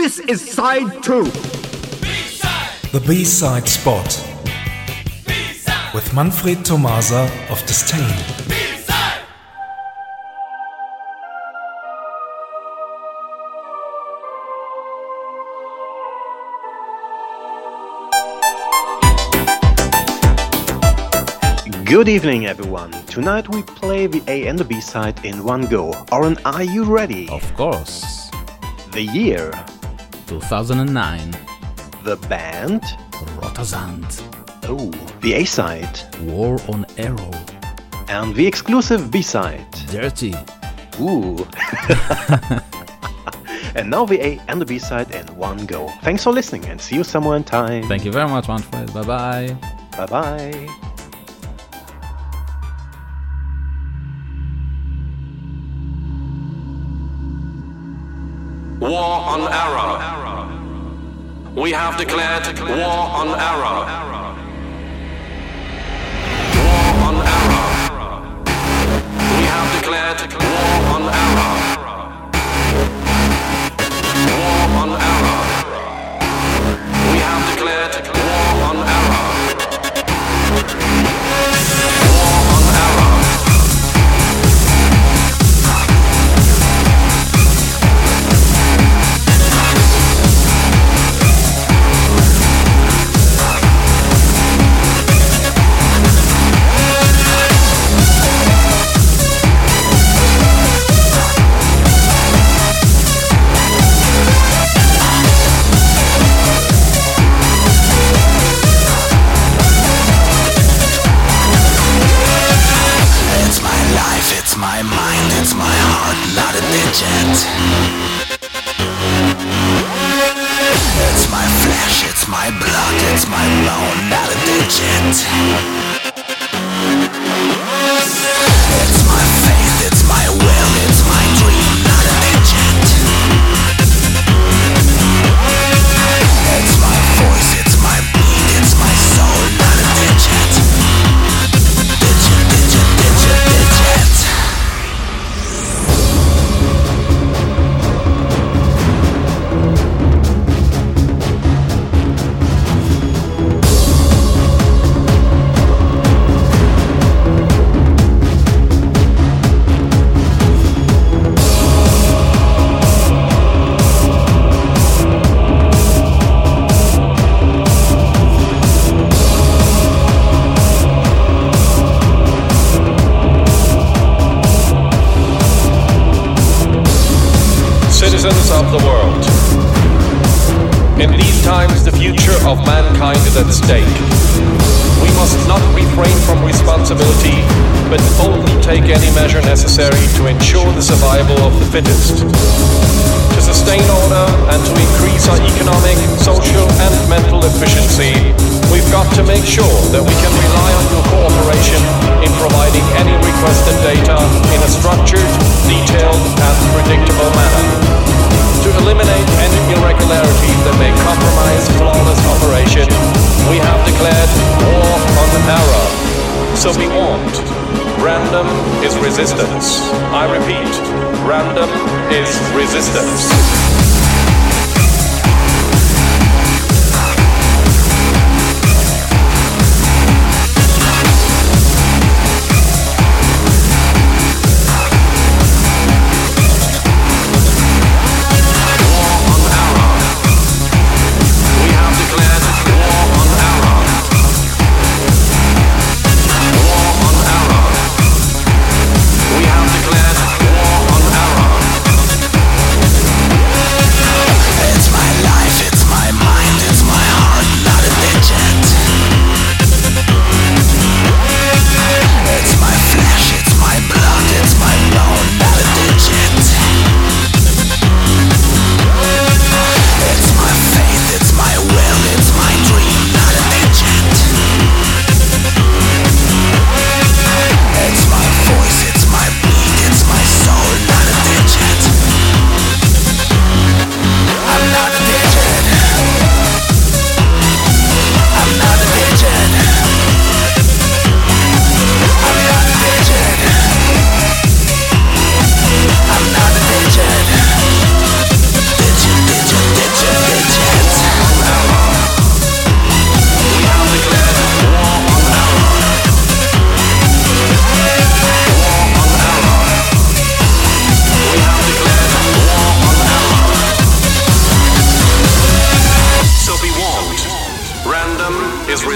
This is side 2. B-side. The B-side spot B-side. with Manfred Tomasa of Disdain. B-side. Good evening, everyone. Tonight we play the A and the B side in one go. Oren, are you ready? Of course. The year, 2009. the band, Rotersand. oh, the A side, War on Arrow. and the exclusive B side. Dirty. Ooh. And now the A and the B side in one go. Thanks for listening and see you somewhere in time. Thank you very much, Manfred. Bye bye. Bye bye. War on Arrow. We have declared war on Arrow. War on Arrow. We have declared war on Arrow. War on Arrow. We have declared war on Arrow. War on Arrow. It's my mind, it's my heart, not a digit. It's my flesh, it's my blood, it's my bone, not a digit. It's my faith, it's my will, it's my dream, not a digit. It's my voice, it's my beat, it's my soul, not a digit. Digit, digit, digit, digit. Citizens of the world. In these times, the future of mankind is at stake. We must not refrain from responsibility, but boldly take any measure necessary to ensure the survival of the fittest. To sustain order and to increase our economic, social, and mental efficiency, we've got to make sure that we can rely on your cooperation in providing any requested data in a structured, detailed, and predictable manner. To eliminate any irregularities that may compromise flawless operation, we have declared war on error. So be warned, random is resistance. I repeat, random is resistance.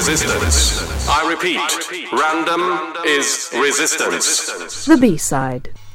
resistance. I repeat, random is resistance. The B-side.